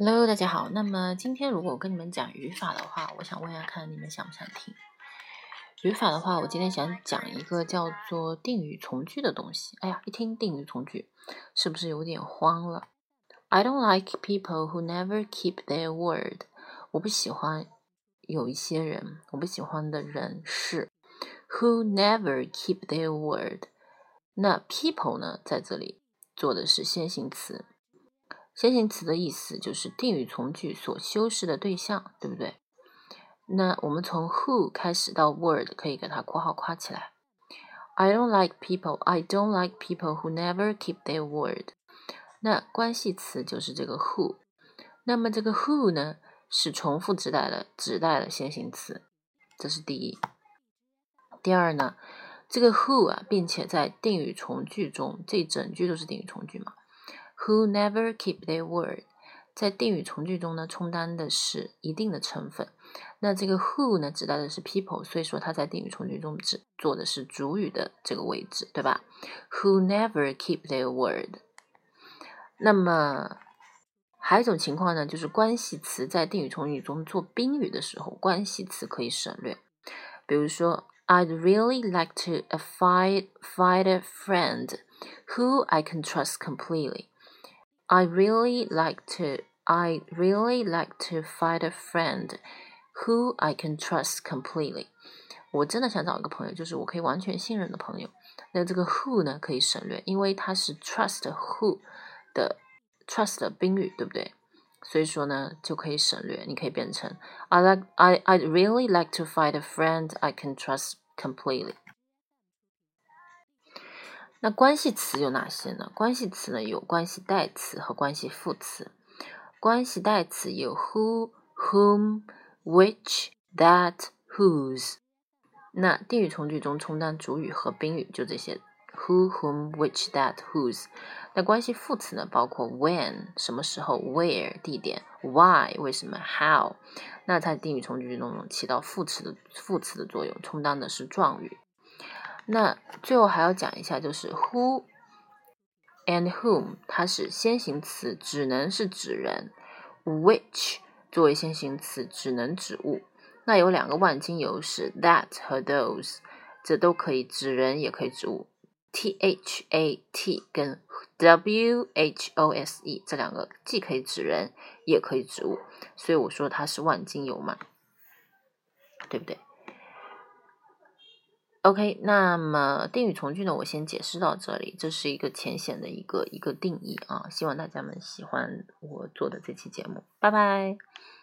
Hello，大家好。那么今天如果我跟你们讲语法的话，我想问一下看你们想不想听。语法的话，我今天想讲一个叫做定语从句的东西。哎呀，一听定语从句，是不是有点慌了？ I don't like people who never keep their word。 我不喜欢有一些人，我不喜欢的人是 who never keep their word。 那 people 呢，在这里做的是先行词。先行词的意思就是定语从句所修饰的对象，对不对？那我们从 who 开始到 word 可以给它括号括起来。I don't like people who never keep their word。 那关系词就是这个 who。 那么这个 who 呢，是重复指代的先行词，这是第一。第二呢，这个 who 啊，并且在定语从句中，这一整句都是定语从句嘛，Who never keep their word， 在定语从句中呢，充当的是一定的成分。那这个 who 呢，指代的是 people， 所以说它在定语从句中做的是主语的这个位置，对吧？ Who never keep their word。 那么还有一种情况呢，就是关系词在定语从句中做宾语的时候，关系词可以省略。比如说 I'd really like to find a friend who I can trust completely。I'd really like to find a friend who I can trust completely。 我真的想找一个朋友，就是我可以完全信任的朋友。那这个 who 呢，可以省略，因为它是 trust who 的 trust 的宾语，对不对？所以说呢，就可以省略，你可以变成 I'd really like to find a friend I can trust completely。 那关系词有哪些呢？关系词呢，有关系代词和关系副词。关系代词有 who, whom, which, that, whose。 那定语从句中充当主语和宾语，就这些 who, whom, which, that, whose。 那关系副词呢，包括 when 什么时候， where 地点， why 为什么， how。 那在定语从句中起到副词的作用，充当的是状语。那最后还要讲一下，就是 who and whom 它是先行词，只能是指人。 which 作为先行词，只能指物。那有两个万金油是 that 和 those， 这都可以指人也可以指物。 that 跟 whose 这两个既可以指人也可以指物，所以我说它是万金油嘛，对不对？OK， 那么定语从句呢，我先解释到这里，这是一个浅显的一个定义啊，希望大家们喜欢我做的这期节目，拜拜。